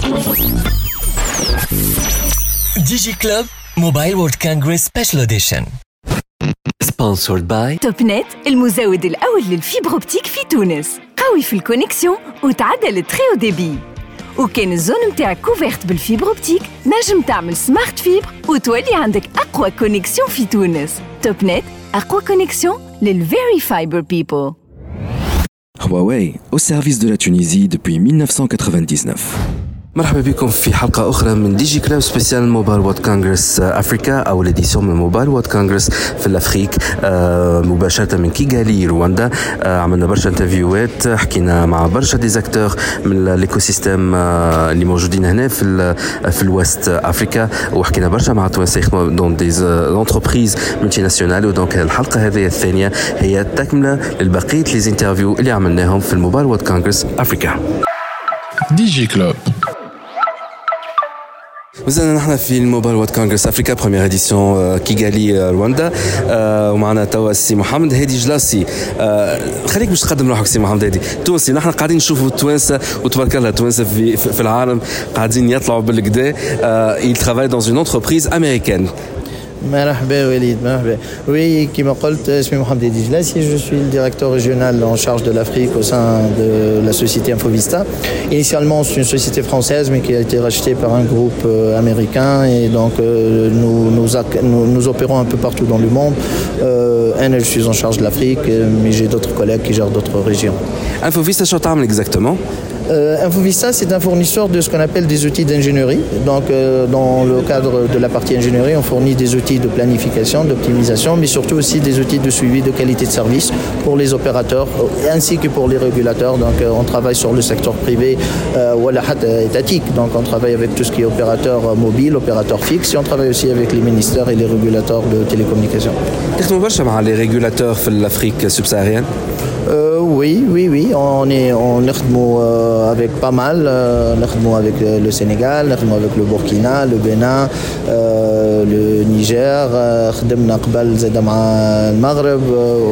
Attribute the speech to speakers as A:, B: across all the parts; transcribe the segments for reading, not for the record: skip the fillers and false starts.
A: DigiClub Mobile World Congress Special Edition. Sponsored by
B: توب نت، المزود الأول للفيبر أوبتيك في تونس. قوي في الكونيكسيون وتعدل التريو ديبي. وكان الزون متاعك كوفيرت بالفيبر أوبتيك، نجم تعمل سمارت فيبر وتولي عندك أقوى كونيكسيون في تونس. توب نت، أقوى كونيكسيون للفيري فايبر بيبل.
C: Huawei, au service de la Tunisie depuis 1999.
D: مرحبا بكم في حلقة أخرى من دي جي كلاب سبيسيال موبايل وورد كونغرس أفريكا أو الإديسيون من موبايل وورد كونغرس في الأفريك مباشرة من كيغالي رواندا. عملنا برشا انترفيوات، حكينا مع برشا ديزاكتور من الإيكو سيستيم اللي موجودين هنا في الوست أفريكا، وحكينا برشا مع توانسة يخدموا دون ديز انتربريز ملتي ناسيونال. ودونك الحلقة هذه الثانية هي تكملة للبقية لي انترفيو اللي عملناهم في الموبايل وورد كونغرس أفريكا.
E: دي جي كلوب.
D: وزلنا نحن في الموبايل وورد كونغرس افريكا بروميير اديسيون كيغالي رواندا، ومعنا توا السي محمد هادي جلاسي. خليك باش تقدم روحك سي محمد هادي، تونسي. نحن قاعدين نشوفوا التوانسه وتبارك الله التوانسه في العالم قاعدين يطلعوا بالكدا. il travaille dans une entreprise américaine.
F: مرحبا وليد، مرحبا. Oui, كما قلت اسمي محمد هادي جلاسي، je suis le directeur régional en charge de l'Afrique au sein de la société Infovista. Initialement, c'est une société française mais qui a été rachetée par un groupe américain et donc nous opérons un peu partout dans le monde. Je suis en charge de l'Afrique, mais j'ai d'autres collègues qui gèrent d'autres régions.
D: Infovista, شو تعمل exactement?
F: Infovista, c'est un fournisseur de ce qu'on appelle des outils d'ingénierie. Donc, dans le cadre de la partie ingénierie, on fournit des outils de planification, d'optimisation, mais surtout aussi des outils de suivi de qualité de service pour les opérateurs ainsi que pour les régulateurs. Donc, on travaille sur le secteur privé ou étatique. Donc, on travaille avec tout ce qui est opérateur mobile, opérateur fixe, et on travaille aussi avec les ministères et les régulateurs de télécommunications.
D: تخدموا برشا مع les régulateurs في l'Afrique subsaharienne?
F: Oui. On avec pas mal. On avec le Sénégal, on avec le Burkina, le Bénin, le Niger, خدمنا قبل زاد مع المغرب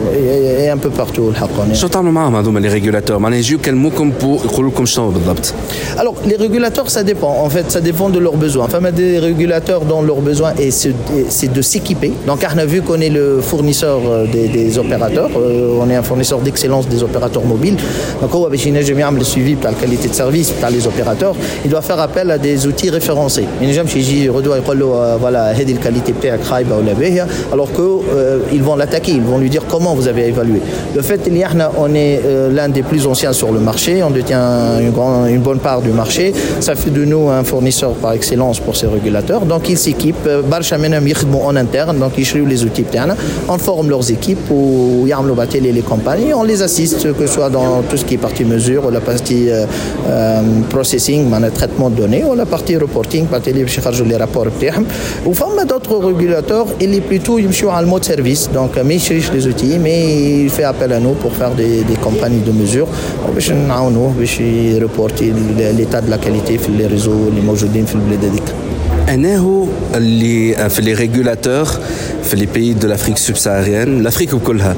F: et un peu partout الحق.
D: شو تعملوا معهم هذوما les régulateurs؟ معناها يجيو يكلموكم يقولوا لكم شنو بالضبط؟
F: Alors les régulateurs ça dépend. En fait ça dépend de leurs besoins. Enfin des régulateurs dont leur besoin c'est de s'équiper. Donc on a vu qu'on est le fournisseur des opérateurs. On est un fournisseur d'excellence des opérateurs mobiles. Donc on va ينجم يعمل le suivi de la qualité de service par les opérateurs. Il doit faire appel à des outils référencés. ينجم يجي يردوا يقول له voilà هذه الكاليتي بتاعك خايبه ولا باهيه alors que ils vont l'attaquer, ils vont lui dire comment vous avez évalué. Le fait on est l'un des plus anciens sur le marché, on détient une bonne part du marché. Ça fait de nous un fournisseur par excellence pour ces régulateurs. Donc ils s'équipent, برشا منهم يخدموا en interne, donc ils يشريوا les outils بتاعنا, on forme leurs équipes ويعملوا les campagnes, on les assiste que ce soit dans tout ce qui est partie mesure ou la partie processing, le traitement de données, ou la partie reporting, partie اللي باش يخرجوا les rapports بتاعهم. وفما d'autres régulateurs اللي plutôt يمشيوا على المود سيرفيس، donc ما يشريش les outils mais il fait appel à nous pour faire des campagnes de mesure باش نعاونوه باش يريبورتي l'état de la qualité في les réseaux اللي موجودين في البلاد هذيك.
D: أنه اللي في les régulateurs في les pays de l'Afrique subsaharienne الأفريق كلها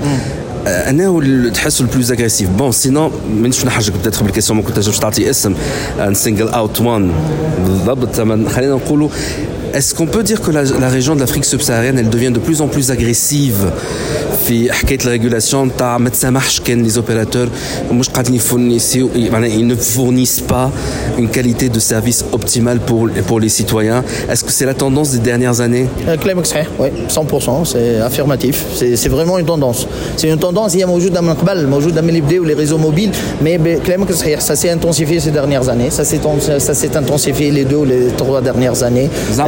D: أنه تحسوا البلوز أغريسيف. بون سينو منش نحاجك بتدخل بالكيسيون ما كنتش تعطي اسم سينجل اوت وان بالضبط. خلينا نقولوا est-ce qu'on peut dire que la région de l'Afrique subsaharienne elle devient de plus en plus agressive في حكاية الرégulation تاع ما تسمحش كان les opérateurs مش قاعدين يفورنيسيو معناها ils ne fournissent pas une qualité de service optimale pour les citoyens. Est-ce que c'est la tendance des dernières années?
F: كلامك صحيح، oui 100%, c'est affirmatif, c'est vraiment une tendance. C'est une tendance هي موجودة من قبل، موجودة من اللي بداوا les réseaux mobiles, mais كلامك صحيح ça s'est intensifié ces dernières années, ça s'est intensifié les 2 ou les 3 dernières années.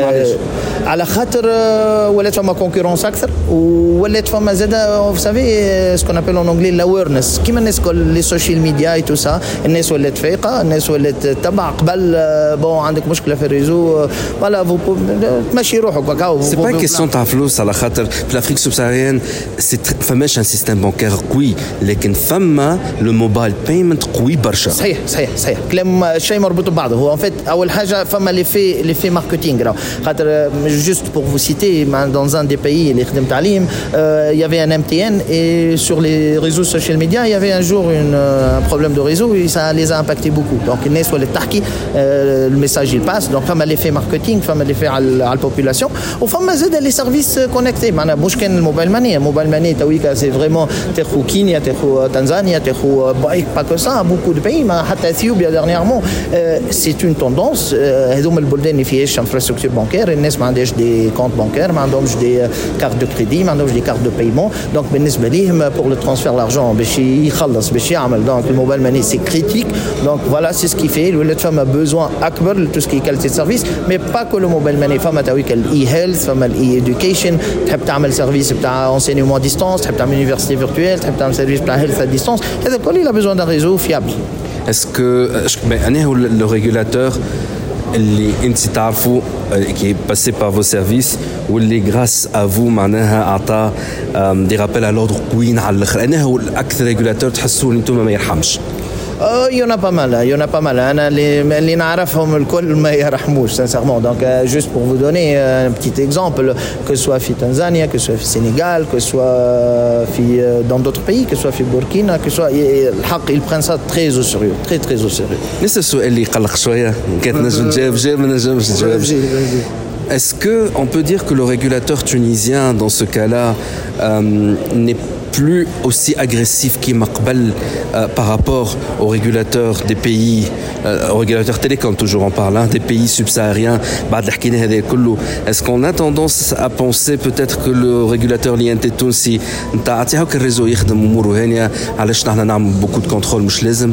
F: على خاطر ولات فما كونكورونس اكثر وولات فما زاده vous savez ce qu'on appelle en anglais l'awareness كيما الناس كل لي سوشيال ميديا اي تو سا. الناس ولات فايقه، الناس ولات تبع قبل بون عندك مشكله في الريزو فوالا تمشي روحك هكا.
D: سي با كيسيون تاع فلوس على خاطر في الافريك سوبساهاريان فماش ان سيستم بانكير قوي لكن فما لو موبايل بايمنت قوي برشا.
F: صحيح كلام شيء مربوط ببعضه. هو ان فيت اول حاجه فما لي في ماركتينغ Juste pour vous citer, dans un des pays, il y avait un MTN et sur les réseaux social media, il y avait un jour un problème de réseau et ça les a impactés beaucoup. Donc, le message il passe. Donc, femme l'effet marketing, femme l'effet à la population. Ou femme les services connectés. Le mobile money, c'est vraiment Kenya, Tanzanie, pas que ça, beaucoup de pays. Ethiopie dernièrement, c'est une tendance. Il y a infrastructure bancaire, il y a des comptes bancaires, il y a des cartes de crédit, il y a des cartes de paiement. Donc, pour le transfert d'argent, donc le mobile money c'est critique. Donc voilà, c'est ce qui fait. Le femme a besoin akbar de tout ce qui est qualité de service, mais pas que le mobile money. Femme a e-health, femme a e-education, tu as un service d'enseignement à distance, tu as une université virtuelle, tu as un service de health à distance. Il a besoin d'un réseau fiable.
D: Est-ce que le régulateur qui est passé par vos services ou grâce à vous des rappels à l'ordre قويين على الاخر انا هو الاكثر ريجولاتور تحسوا انتم ما يرحمش
F: Il y en a pas mal. Les نعرفهم الكل ما يرحموش sincèrement. Donc juste pour vous donner un petit exemple, que ce soit في Tanzanie, que ce soit في Sénégal, que ce soit dans d'autres pays, que ce soit في Burkina, que ce soit الحق ils prennent ça très au sérieux, très au sérieux.
D: نفس السؤال اللي يقلق شويه كانت نجم تجاوب ما نجمش تجاوب. Est-ce qu'on peut dire que le régulateur tunisien, dans ce cas-là, n'est plus aussi agressif qu'il m'aqbal par rapport aux régulateurs des pays, aux régulateurs télécom, toujours en parlant, des pays subsahariens? Est-ce qu'on a tendance à penser peut-être que le régulateur l'INT Tounsi, le réseau beaucoup de contrôle,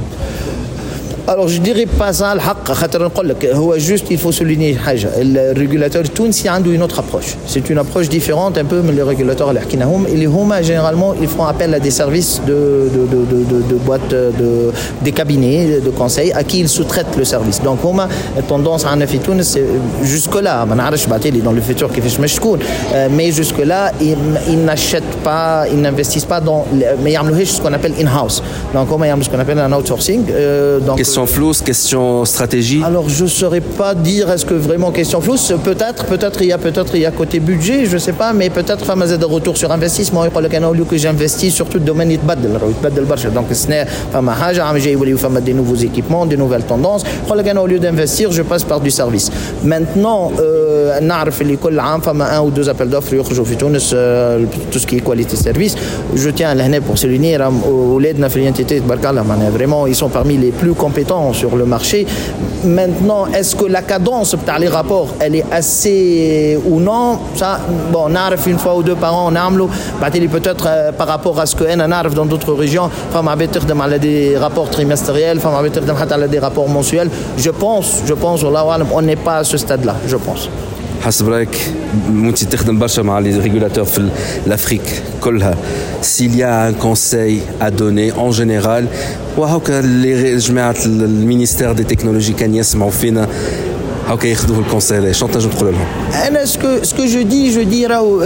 F: Alors je dirais pas ça juste il faut souligner le régulateur tunisien a une autre approche. C'est une approche différente un peu mais les régulateurs généralement ils font appel à des services de boîtes des cabinets de conseil à qui ils sous-traitent le service. Donc on a tendance à en Tunis jusque là dans le futur mais jusque là ils n'achètent pas, ils n'investissent pas dans mais ce qu'on appelle in-house. Donc on a ce qu'on appelle un outsourcing.
D: Question flousse, question stratégie.
F: Alors je ne saurais pas dire est-ce que vraiment question flousse, peut-être il y a côté budget, je ne sais pas, mais peut-être femme de retour sur investissement يقول لك انا au lieu que j'investis sur tout le domaine يتبدل برشا. Donc سنة فما حاجة عم جاي يوليو فما des nouveaux équipements, des nouvelles tendances. يقول لك انا au lieu d'investir, je passe par du service. Maintenant نعرف اللي كل عام فما un ou deux appels d'offres يخرجوا في تونس tout ce qui est qualité de service. Je tiens là pour souligner اولادنا في الانتيتي تبارك الله معناها vraiment ils sont parmi les plus compétents sur le marché. Maintenant, est-ce que la cadence par les rapports, elle est assez ou non? Ça, bon, on arrive une fois ou deux par an, on arrive peut-être par rapport à ce que on arrive dans d'autres régions, femme habiter de des rapports trimestriels, femme habiter de des rapports mensuels. Je pense, on n'est pas à ce stade-là, je pense.
D: حسب رايك وانت تخدم برشا مع لي ريغولاتور في l'Afrique كلها s'il y a un conseil à donner en général وهاكا اللي جماعة المينيستير دي تكنولوجي كان يسمعوا فينا هاكا ياخذوا الكونساي شنو تنجم تقول لهم؟
F: أنا ce que je dis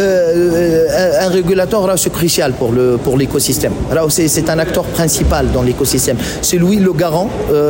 F: un régulateur c'est crucial pour l'écosystème. C'est un acteur principal dans l'écosystème. C'est lui le garant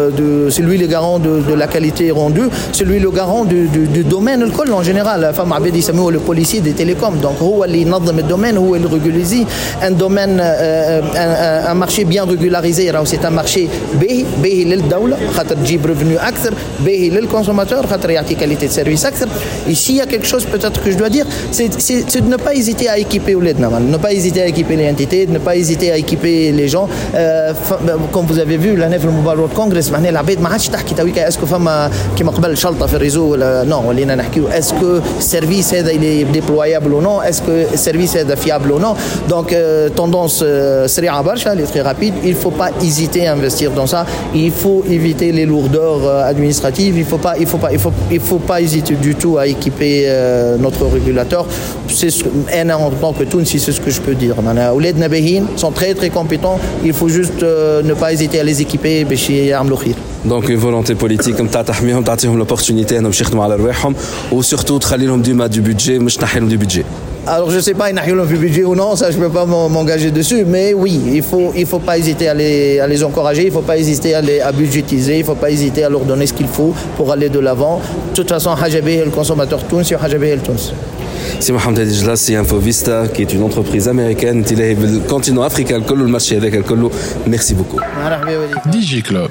F: de la qualité rendue, c'est lui le garant du domaine en général. Femme عباد يسموه le policier des télécoms. Donc هو اللي ينظم الدومين هو اللي régulise un domaine un marché bien régularisé. C'est un marché باهي للدولة خاطر تجيب revenu أكثر باهي للconsommateur خاطر يعطي qualité de service أكثر. Ici il y a quelque chose peut-être que je dois dire, c'est de ne pas hésiter à équiper ولادنا, ne pas hésiter à équiper les entités, ne pas hésiter à équiper les gens. Comme vous avez vu l'année في الموبايل وورد كونغرس معناها العباد ما عادش تحكي تويكا اسكو فما كيما قبل شلطه في الريزو ولا نو ولينا نحكيو اسكو السيرفيس هذا اللي ديبلويابل او نو, اسكو السيرفيس هذا فيابل او نو. دونك تندونس سريعه برشا اللي très rapide. Il faut pas hésiter à investir dans ça. Il faut éviter les lourdeurs administratives. Il faut pas hésiter du tout à équiper notre régulateur. En tant que Tunisie, c'est ce que je peux dire. Les Nabehin sont très compétents. Il faut juste ne pas hésiter à les équiper.
D: Donc une volonté politique comme تحميهم تعطيهم l'opportunité انهم يخدموا على رواحهم وsurtout تخلي لهم ديما du budget مش تنحي لهم du budget.
F: Alors je sais pas il y a un budget ou non, ça je peux pas m'engager dessus, mais oui, il faut pas hésiter à les encourager, il faut pas hésiter à budgétiser, il faut pas hésiter à leur donner ce qu'il faut pour aller de l'avant. De toute façon, Hajabeh est le consommateur Tunis et Hajabeh est le Tunis.
D: C'est Mohamed Hadi Jlassi, Infovista, qui est une entreprise américaine, qui est le continent africain, le marché avec le Colo. Merci beaucoup.
E: DJ Club.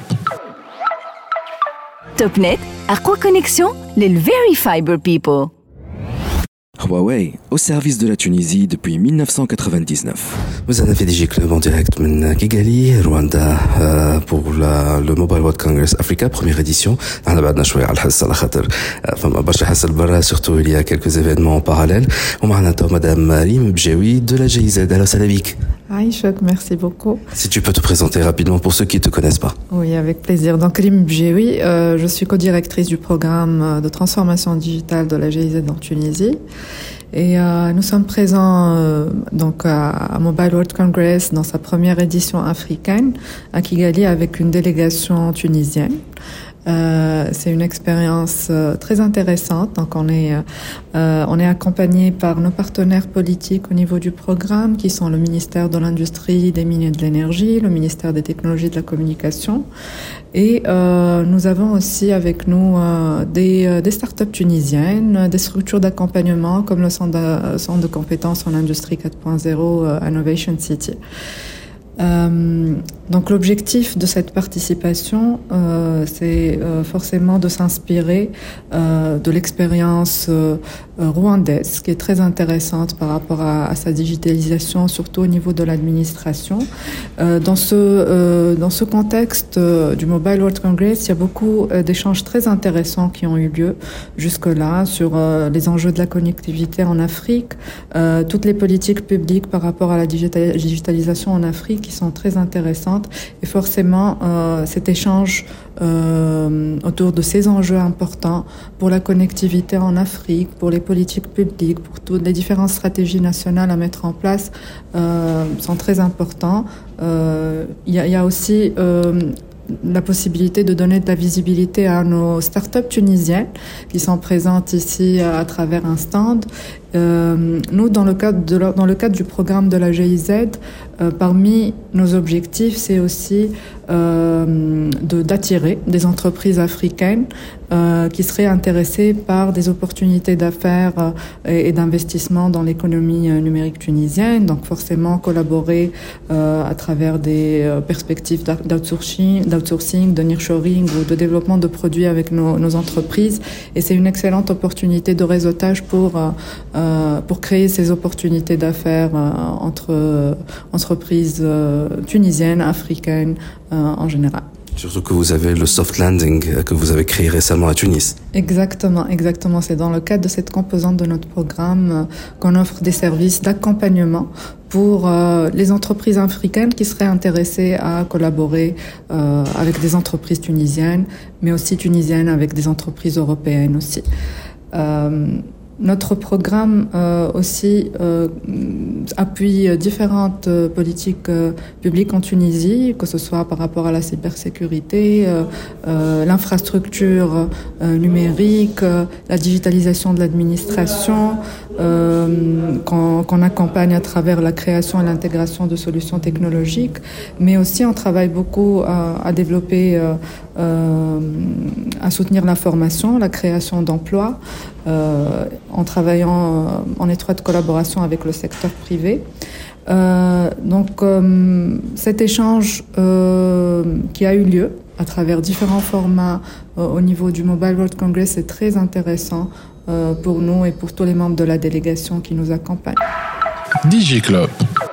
B: TopNet, أقوى connexion لل Very Fiber People.
C: Huawei, au service de la Tunisie depuis 1999.
D: Vous avez fait DJ Club en direct de Kigali, Rwanda, pour le Mobile World Congress Africa, première édition. On a بعدنا شوية على الحس على خاطر فما برشا حس البرا, surtout il y a quelques événements en parallèle. ومعنا تو Madame Rime Bjewi de la GIZ. Alors salam alaikum.
G: Aïchok, merci beaucoup.
D: Si tu peux te présenter rapidement pour ceux qui ne te connaissent pas.
G: Oui, avec plaisir. Donc, Rime Bjewi, je suis co-directrice du programme de transformation digitale de la GIZ en Tunisie. Et nous sommes présents donc à Mobile World Congress dans sa première édition africaine à Kigali avec une délégation tunisienne. C'est une expérience très intéressante. Donc on est accompagné par nos partenaires politiques au niveau du programme qui sont le ministère de l'Industrie, des Mines et de l'Énergie, le ministère des Technologies et de la Communication. Et nous avons aussi avec nous des startups tunisiennes, des structures d'accompagnement comme le centre de compétences en industrie 4.0 Innovation City. Donc l'objectif de cette participation, c'est forcément de s'inspirer de l'expérience rwandaise, qui est très intéressante par rapport à sa digitalisation, surtout au niveau de l'administration. Dans ce contexte du Mobile World Congress, il y a beaucoup d'échanges très intéressants qui ont eu lieu jusque-là sur les enjeux de la connectivité en Afrique, toutes les politiques publiques par rapport à la digitalisation en Afrique qui sont très intéressantes, et forcément cet échange autour de ces enjeux importants pour la connectivité en Afrique, pour les politiques publiques, pour toutes les différentes stratégies nationales à mettre en place sont très importants. Il y a aussi la possibilité de donner de la visibilité à nos startups tunisiennes qui sont présentes ici à travers un stand. Nous, dans le cadre du programme de la GIZ, parmi nos objectifs, c'est aussi d'attirer des entreprises africaines qui seraient intéressées par des opportunités d'affaires et d'investissement dans l'économie numérique tunisienne. Donc forcément collaborer à travers des perspectives d'outsourcing, de nearshoring ou de développement de produits avec nos entreprises. Et c'est une excellente opportunité de réseautage pour créer ces opportunités d'affaires entre entreprises tunisiennes, africaines en général.
D: Surtout que vous avez le soft landing que vous avez créé récemment à Tunis.
G: Exactement. C'est dans le cadre de cette composante de notre programme qu'on offre des services d'accompagnement pour les entreprises africaines qui seraient intéressées à collaborer avec des entreprises tunisiennes, mais aussi tunisiennes avec des entreprises européennes aussi. Notre programme aussi appuie différentes politiques publiques en Tunisie, que ce soit par rapport à la cybersécurité, l'infrastructure numérique, la digitalisation de l'administration, qu'on accompagne à travers la création et l'intégration de solutions technologiques, mais aussi on travaille beaucoup à développer, à soutenir la formation, la création d'emplois, en travaillant en étroite collaboration avec le secteur privé. Donc cet échange qui a eu lieu à travers différents formats au niveau du Mobile World Congress est très intéressant pour nous et pour tous les membres de la délégation qui nous accompagnent.
E: DJ Club.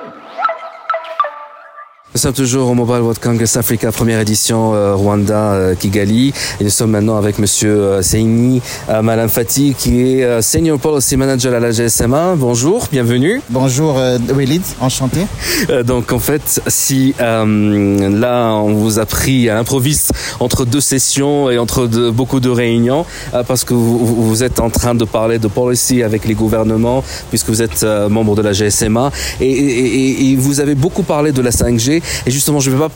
D: Nous sommes toujours au Mobile World Congress Africa, première édition Rwanda, Kigali. Et nous sommes maintenant avec Monsieur Seini Malam Fati, qui est Senior Policy Manager à la GSMA. Bonjour, bienvenue.
H: Bonjour Walid, enchanté.
D: Donc en fait, si là on vous a pris à l'improviste entre deux sessions et entre beaucoup de réunions, parce que vous êtes en train de parler de policy avec les gouvernements, puisque vous êtes membre de la GSMA, et vous avez beaucoup parlé de la 5G. Et justement, je ne vais pas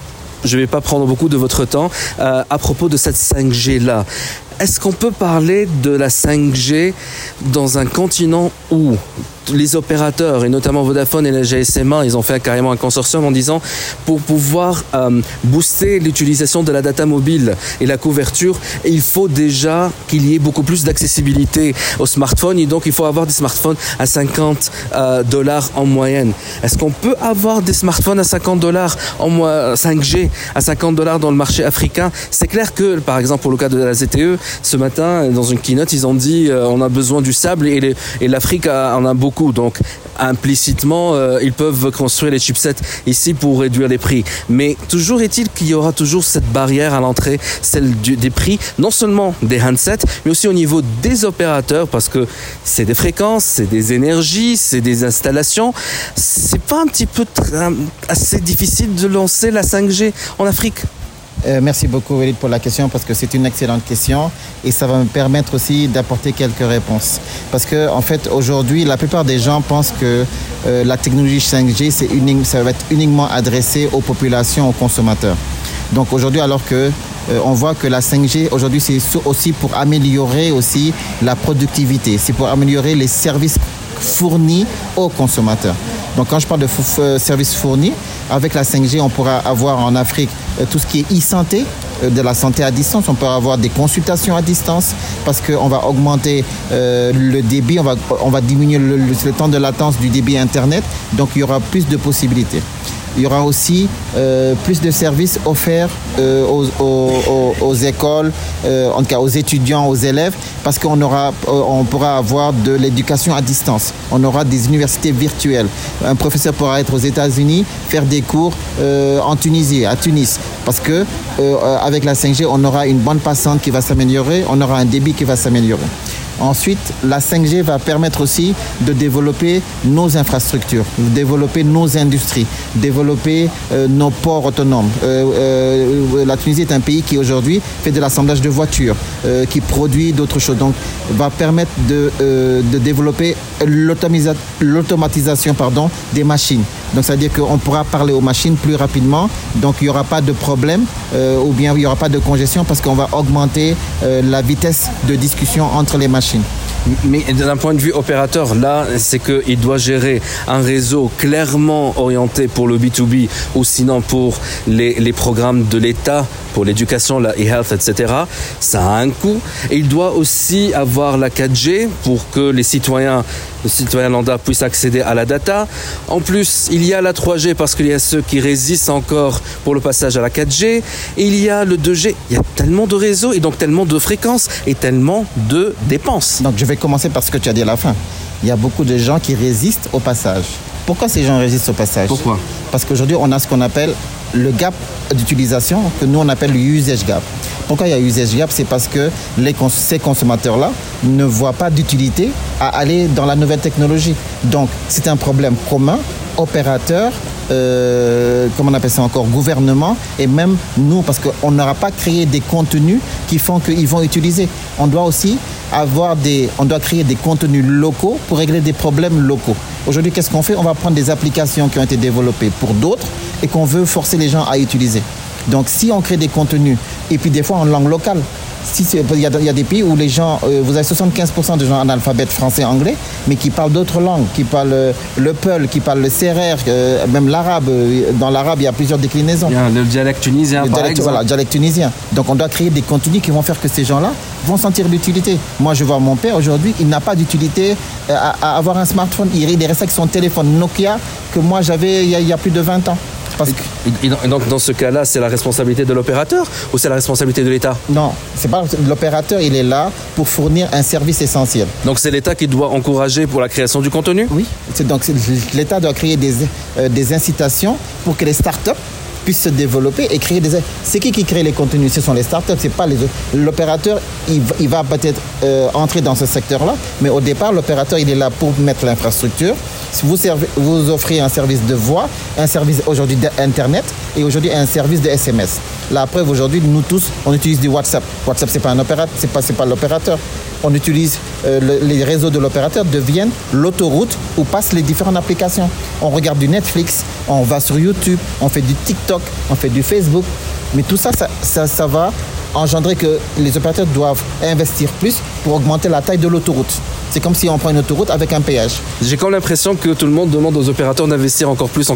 D: je ne vais pas prendre beaucoup de votre temps. À propos de cette 5G-là, est-ce qu'on peut parler de la 5G dans un continent où les opérateurs, et notamment Vodafone et la GSMA, ils ont fait carrément un consortium en disant pour pouvoir booster l'utilisation de la data mobile et la couverture, il faut déjà qu'il y ait beaucoup plus d'accessibilité aux smartphones et donc il faut avoir des smartphones à $50 en moyenne. Est-ce qu'on peut avoir des smartphones à $50 en 5G à $50 dans le marché africain? C'est clair que, par exemple, pour le cas de la ZTE, ce matin, dans une keynote, ils ont dit on a besoin du sable et l'Afrique en a beaucoup. Donc, implicitement, ils peuvent construire les chipsets ici pour réduire les prix. Mais toujours est-il qu'il y aura toujours cette barrière à l'entrée, celle des prix, non seulement des handsets, mais aussi au niveau des opérateurs, parce que c'est des fréquences, c'est des énergies, c'est des installations. C'est pas un petit peu assez difficile de lancer la 5G en Afrique?
H: Merci beaucoup, Walid, pour la question, parce que c'est une excellente question et ça va me permettre aussi d'apporter quelques réponses. Parce que, en fait, aujourd'hui, la plupart des gens pensent que la technologie 5G, ça va être uniquement adressé aux populations, aux consommateurs. Donc aujourd'hui, alors que on voit que la 5G, aujourd'hui, c'est aussi pour améliorer aussi la productivité, c'est pour améliorer les services fournis aux consommateurs. Donc quand je parle de services fournis, avec la 5G, on pourra avoir en Afrique tout ce qui est e-santé, de la santé à distance. On peut avoir des consultations à distance parce qu'on va augmenter le débit, on va diminuer le temps de latence du débit Internet. Donc il y aura plus de possibilités. Il y aura aussi plus de services offerts aux écoles, en tout cas aux étudiants, aux élèves, parce qu'on pourra avoir de l'éducation à distance. On aura des universités virtuelles. Un professeur pourra être aux États-Unis, faire des cours en Tunisie, à Tunis, parce que avec la 5G, on aura une bande passante qui va s'améliorer, on aura un débit qui va s'améliorer. Ensuite, la 5G va permettre aussi de développer nos infrastructures, de développer nos industries, développer nos ports autonomes. La Tunisie est un pays qui aujourd'hui fait de l'assemblage de voitures, qui produit d'autres choses. Donc, va permettre de développer l'automatisation des machines. Donc, c'est-à-dire qu'on pourra parler aux machines plus rapidement. Donc, il n'y aura pas de problème ou bien il n'y aura pas de congestion parce qu'on va augmenter la vitesse de discussion entre les machines.
D: Mais d'un point de vue opérateur, là, c'est qu'il doit gérer un réseau clairement orienté pour le B2B ou sinon pour les programmes de l'État, pour l'éducation, la e-health, etc. Ça a un coût. Et il doit aussi avoir la 4G pour que les citoyens lambda puissent accéder à la data. En plus, il y a la 3G parce qu'il y a ceux qui résistent encore pour le passage à la 4G. Et il y a le 2G. Il y a tellement de réseaux et donc tellement de fréquences et tellement de dépenses.
H: Donc je vais commencer par ce que tu as dit à la fin. Il y a beaucoup de gens qui résistent au passage. Pourquoi ces gens résistent au passage?
D: Pourquoi?
H: Parce qu'aujourd'hui, on a ce qu'on appelle le gap d'utilisation, que nous on appelle le usage gap. Pourquoi il y a usage gap? C'est parce que ces consommateurs-là ne voient pas d'utilité à aller dans la nouvelle technologie. Donc, c'est un problème commun, opérateur, comment on appelle ça encore, gouvernement, et même nous, parce qu'on n'aura pas créé des contenus qui font qu'ils vont utiliser. On doit aussi créer des contenus locaux pour régler des problèmes locaux. Aujourd'hui, qu'est-ce qu'on fait? On va prendre des applications qui ont été développées pour d'autres et qu'on veut forcer les gens à utiliser. Donc, si on crée des contenus, et puis des fois en langue locale, il y a des pays où les gens, vous avez 75% de gens analphabètes français, anglais, mais qui parlent d'autres langues, qui parlent le peul, qui parlent le sérère, même l'arabe. Dans l'arabe, il y a plusieurs déclinaisons.
D: Il y a le dialecte tunisien, par exemple.
H: Voilà, le dialecte tunisien. Donc, on doit créer des contenus qui vont faire que ces gens-là vont sentir l'utilité. Moi, je vois mon père, aujourd'hui, il n'a pas d'utilité à avoir un smartphone. Il est resté avec son téléphone Nokia que moi, j'avais il y a plus de 20 ans.
D: Et donc, dans ce cas-là, c'est la responsabilité de l'opérateur ou c'est la responsabilité de l'État?
H: Non, c'est pas l'opérateur, il est là pour fournir un service essentiel. Donc,
D: c'est l'État qui doit encourager pour la création du contenu?
H: Oui, l'État doit créer des incitations pour que les startups puissent se développer et créer des... C'est qui crée les contenus? Ce sont les startups, c'est pas les... L'opérateur, il va peut-être entrer dans ce secteur-là, mais au départ, l'opérateur, il est là pour mettre l'infrastructure. Vous offrez un service de voix, un service aujourd'hui d'Internet et aujourd'hui un service de SMS. La preuve aujourd'hui, nous tous, on utilise du WhatsApp. WhatsApp, c'est pas un opérateur, c'est pas l'opérateur. On utilise les réseaux de l'opérateur deviennent l'autoroute où passent les différentes applications. On regarde du Netflix, on va sur YouTube, on fait du TikTok, on fait du Facebook. Mais tout ça, ça va engendrer que les opérateurs doivent investir plus pour augmenter la taille de l'autoroute. C'est comme si on prend une autoroute avec un péage.
D: J'ai quand même l'impression que tout le monde demande aux opérateurs d'investir encore plus.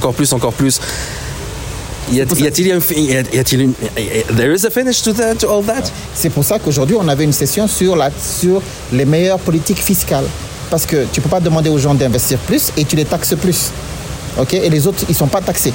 D: Y a-t-il une there is a finish to all that?
H: C'est pour ça qu'aujourd'hui on avait une session sur les meilleures politiques fiscales. Parce que tu ne peux pas demander aux gens d'investir plus et tu les taxes plus. Ok? Et les autres, ils ne sont pas taxés.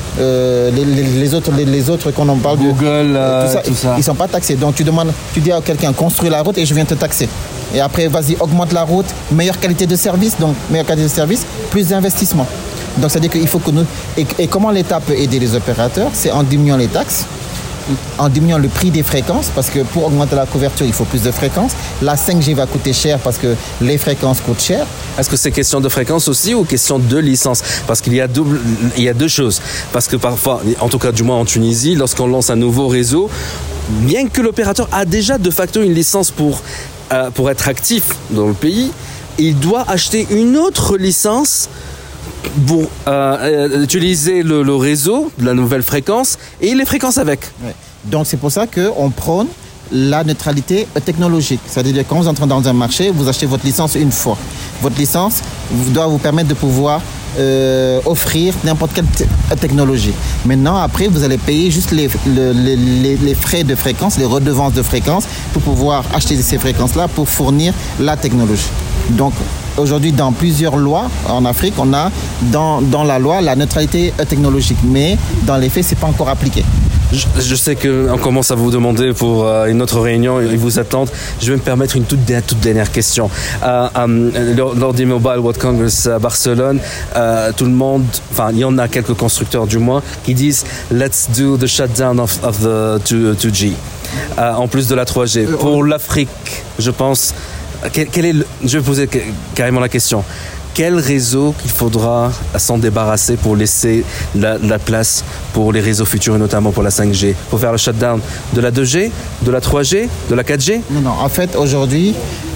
H: Les autres qu'on en parle
D: Google,
H: tout ça, ils ne sont pas taxés. Donc tu dis à quelqu'un construis la route et je viens te taxer. Et après, vas-y, augmente la route, meilleure qualité de service, plus d'investissement. Donc c'est-à-dire qu'il faut que nous... Et comment l'État peut aider les opérateurs? C'est en diminuant les taxes, en diminuant le prix des fréquences, parce que pour augmenter la couverture, il faut plus de fréquences. La 5G va coûter cher parce que les fréquences coûtent cher.
D: Est-ce que c'est question de fréquence aussi ou question de licence? Parce qu'il y a deux choses. Parce que parfois, en tout cas du moins en Tunisie, lorsqu'on lance un nouveau réseau, bien que l'opérateur a déjà de facto une licence pour être actif dans le pays, il doit acheter une autre licence pour utiliser le réseau de la nouvelle fréquence et les fréquences avec.
H: Ouais. Donc c'est pour ça qu'on prône la neutralité technologique. C'est-à-dire que quand vous entrez dans un marché, vous achetez votre licence une fois. Votre licence doit vous permettre de pouvoir offrir n'importe quelle technologie. Maintenant, après, vous allez payer juste les frais de fréquence, les redevances de fréquence pour pouvoir acheter ces fréquences-là pour fournir la technologie. Donc, aujourd'hui, dans plusieurs lois en Afrique, on a dans la loi la neutralité technologique. Mais dans les faits, ce n'est pas encore appliqué.
D: Je sais qu'on commence à vous demander pour une autre réunion, ils vous attendent. Je vais me permettre une toute dernière question. Lors du Mobile World Congress à Barcelone, tout le monde, enfin il y en a quelques constructeurs du moins, qui disent « Let's do the shutdown of the 2G ». En plus de la 3G. Pour l'Afrique, je pense, je vais poser carrément la question. Quel réseau qu'il faudra s'en débarrasser pour laisser la place pour les réseaux futurs et notamment pour la 5G? Pour faire le shutdown de la 2G, de la 3G, de la 4G?
H: Non, en fait, aujourd'hui,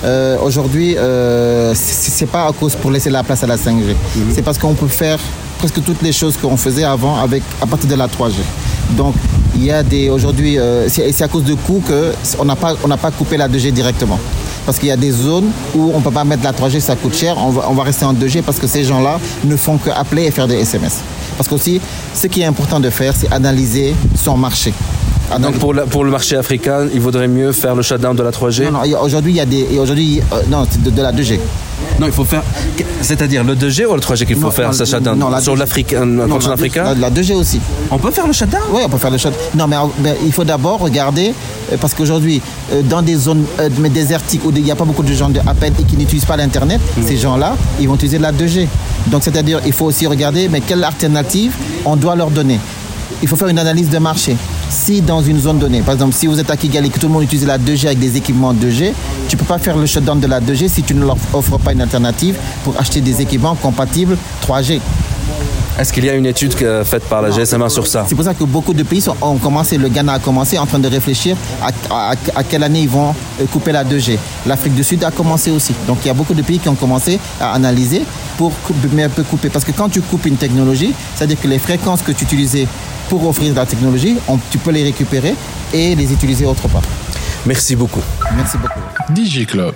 H: c'est pas à cause pour laisser la place à la 5G. Mm-hmm. C'est parce qu'on peut faire presque toutes les choses qu'on faisait avant à partir de la 3G. Donc, il y a aujourd'hui, c'est à cause de coûts qu'on n'a pas coupé la 2G directement. Parce qu'il y a des zones où on ne peut pas mettre la 3G, ça coûte cher, on va rester en 2G parce que ces gens-là ne font qu'appeler et faire des SMS. Parce qu'aussi, ce qui est important de faire, c'est analyser son marché.
D: Donc pour le marché africain, il vaudrait mieux faire le shutdown de la 3G?
H: Non, aujourd'hui, il y a c'est de la 2G.
D: Non, il faut faire... C'est-à-dire le 2G ou le 3G qu'il faut faire, ce shutdown? Sur l'Afrique, continent africain?
H: La 2G aussi.
D: On peut faire le shutdown?
H: Oui, on peut faire le shutdown. Non, mais il faut d'abord regarder, parce qu'aujourd'hui, dans des zones désertiques où il n'y a pas beaucoup de gens à peine et qui n'utilisent pas l'Internet, ces gens-là, ils vont utiliser la 2G. Donc, c'est-à-dire, il faut aussi regarder, mais quelle alternative on doit leur donner. Il faut faire une analyse de marché. Si dans une zone donnée, par exemple, si vous êtes à Kigali et que tout le monde utilise la 2G avec des équipements 2G, tu ne peux pas faire le shutdown de la 2G si tu ne leur offres pas une alternative pour acheter des équipements compatibles 3G.
D: Est-ce qu'il y a une étude faite par la GSMA sur ça?
H: C'est pour ça que beaucoup de pays ont commencé, le Ghana a commencé en train de réfléchir à quelle année ils vont couper la 2G. L'Afrique du Sud a commencé aussi. Donc il y a beaucoup de pays qui ont commencé à analyser pour couper. Parce que quand tu coupes une technologie, c'est-à-dire que les fréquences que tu utilisais pour offrir la technologie, tu peux les récupérer et les utiliser autre part.
D: Merci beaucoup.
H: Merci beaucoup.
E: DigiClub.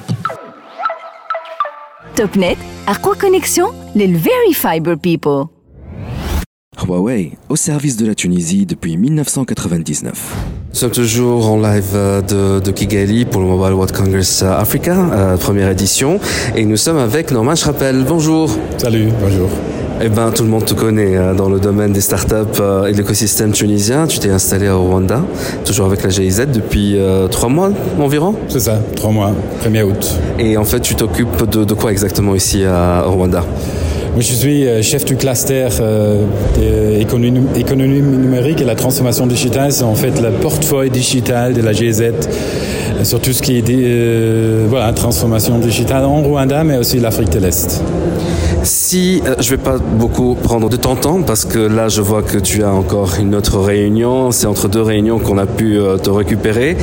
B: TopNet, Aqua Connexion, les Very Fiber People.
C: Huawei, au service de la Tunisie depuis 1999.
D: Nous sommes toujours en live de Kigali pour le Mobile World Congress Africa, première édition. Et nous sommes avec Norman Schrappel. Bonjour.
I: Salut, bonjour.
D: Eh ben, tout le monde te connaît dans le domaine des startups et de l'écosystème tunisien. Tu t'es installé au Rwanda, toujours avec la GIZ depuis 3 mois environ?
I: C'est ça, 3 mois, 1er août.
D: Et en fait, tu t'occupes de quoi exactement ici au Rwanda?
I: Moi, je suis chef du cluster économie numérique et la transformation digitale. C'est en fait le portefeuille digital de la GIZ sur tout ce qui est transformation digitale en Rwanda, mais aussi l'Afrique de l'Est.
D: Si Si je vais pas beaucoup prendre de ton temps parce que là je vois que tu as encore une autre réunion, c'est entre deux réunions qu'on a pu te récupérer.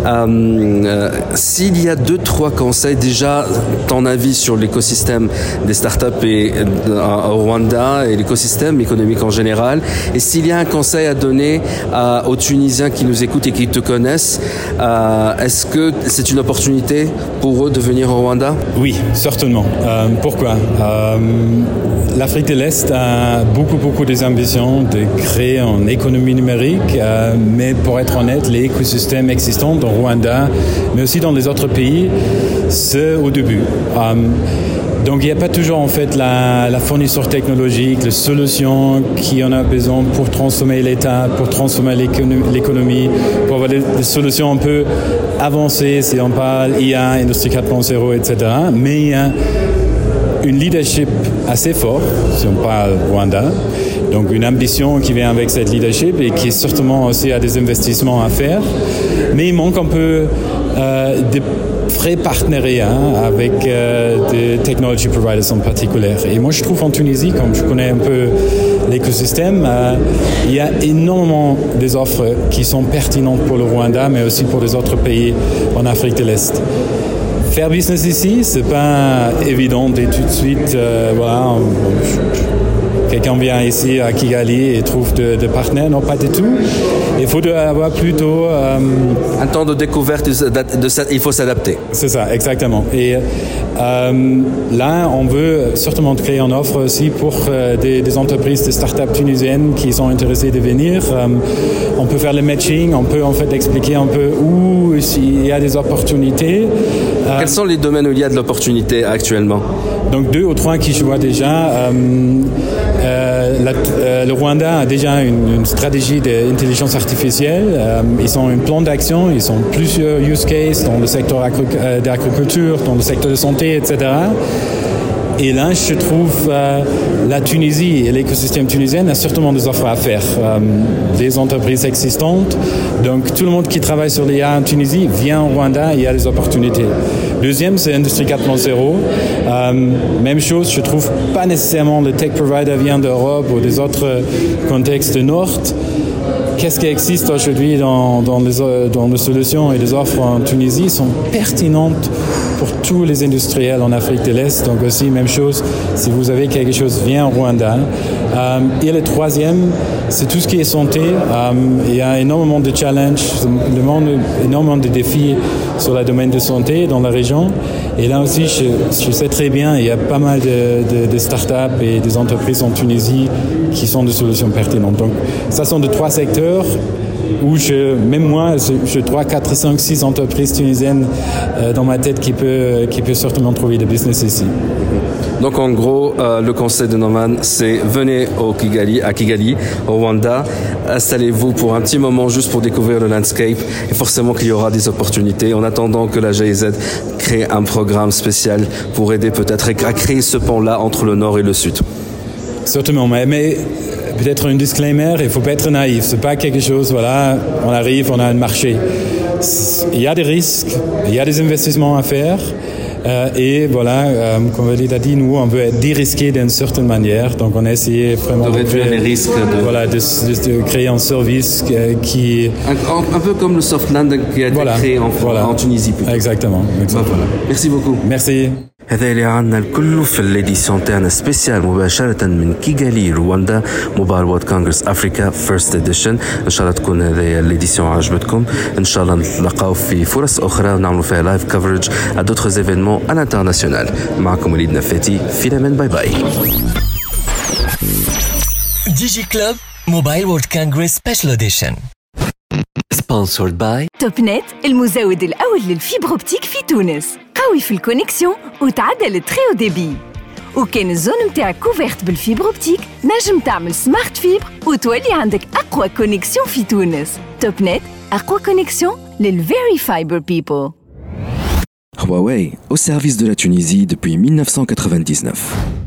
D: S'il y a 2-3 conseils, déjà ton avis sur l'écosystème des startups au Rwanda et l'écosystème économique en général, et s'il y a un conseil à donner aux Tunisiens qui nous écoutent et qui te connaissent, est-ce que c'est une opportunité pour eux de venir au Rwanda?
I: Oui, certainement. Pourquoi? L'Afrique de l'Est a beaucoup des ambitions de créer une économie numérique, mais pour être honnête, l'écosystème existant dans Rwanda, mais aussi dans les autres pays, c'est au début. Donc il n'y a pas toujours en fait la fournisseur technologique, les solutions qui en a besoin pour transformer l'État, pour transformer l'économie, pour avoir des solutions un peu avancées, si on parle IA, Industrie 4.0, etc. Mais il y a une leadership assez forte, si on parle Rwanda, donc une ambition qui vient avec cette leadership et qui certainement aussi a des investissements à faire, mais il manque un peu des vrais partenariats avec des technology providers en particulier. Et moi je trouve en Tunisie, comme je connais un peu l'écosystème, il y a énormément des offres qui sont pertinentes pour le Rwanda, mais aussi pour les autres pays en Afrique de l'Est. Faire business ici, c'est pas évident et tout de suite, voilà, quelqu'un vient ici à Kigali et trouve de partenaires. Non, pas du tout. Il faut avoir plutôt
D: un temps de découverte, il faut s'adapter.
I: C'est ça, exactement. Et là, on veut certainement créer une offre aussi pour des entreprises, des startups tunisiennes qui sont intéressées de venir. On peut faire le matching, on peut en fait expliquer un peu où il y a des opportunités.
D: Quels sont les domaines où il y a de l'opportunité actuellement?
I: Donc 2 ou 3 qui je vois déjà. Le Rwanda a déjà une stratégie d'intelligence artificielle. Ils ont un plan d'action, ils ont plusieurs use cases dans le secteur d'agriculture, dans le secteur de santé, etc. Et là, je trouve la Tunisie et l'écosystème tunisien a certainement des offres à faire. Des entreprises existantes. Donc, tout le monde qui travaille sur l'IA en Tunisie vient au Rwanda, il y a des opportunités. Deuxième, c'est Industrie 4.0. Même chose, je trouve pas nécessairement le tech provider vient d'Europe ou des autres contextes du Nord. Qu'est-ce qui existe aujourd'hui dans les solutions et les offres en Tunisie sont pertinentes pour tous les industriels en Afrique de l'Est. Donc aussi, même chose, si vous avez quelque chose, viens au Rwanda. Et le troisième, c'est tout ce qui est santé. Il y a énormément de challenges, énormément de défis sur le domaine de santé dans la région. Et là aussi, je sais très bien, il y a pas mal de startups et des entreprises en Tunisie qui sont des solutions pertinentes. Donc, ça sont de 3 secteurs où même moi, je 3, 4, 5, 6 entreprises tunisiennes dans ma tête qui peut certainement trouver des business ici.
D: Donc en gros, le conseil de Norman, c'est venez à Kigali, au Rwanda, installez-vous pour un petit moment juste pour découvrir le landscape et forcément qu'il y aura des opportunités en attendant que la GIZ crée un programme spécial pour aider peut-être à créer ce pont-là entre le nord et le sud.
I: Certainement, mais peut-être un disclaimer, il ne faut pas être naïf. Ce n'est pas quelque chose, voilà, on arrive, on a un marché. Il y a des risques, il y a des investissements à faire. Et voilà, comme Walid a dit, nous, on veut être dérisqué d'une certaine manière. Donc, on a essayé vraiment
D: de réduire les risques.
I: Voilà, de créer un service qui...
D: Un peu comme le Softland qui a été créé en Tunisie. Plutôt.
I: Exactement.
D: Voilà. Merci beaucoup.
I: Merci.
D: هذا اللي عنا الكل في الاديسيون تاعنا سبيسيال مباشرة من كيغالي رواندا موبايل وورد كونغرس افريكا فيرست اديشن. ان شاء الله تكون هذه الاديسيون عجبتكم. ان شاء الله نتلاقاو في فرص اخرى ونعملوا فيها لايف كفرج ا دوتر ايفينمون ا لانترناسيونال. معكم وليد نفاتي في الامان. باي باي.
A: ديجي كلوب موبايل وورد كونغرس سبيشال اديشن sponsored by
B: توب نت، المزود الأول للفيبر أوبتيك في تونس، قوي في الكونيكسيون وتعدل التري او ديبي. وكان الزون متاعك كوفيرت بالفيبر أوبتيك، نجم تعمل سمارت فيبر وتولي عندك أقوى كونيكسيون في تونس. توب نت، أقوى كونيكسيون للفيري فايبر بيبل.
C: Huawei, au service de la Tunisie depuis 1999.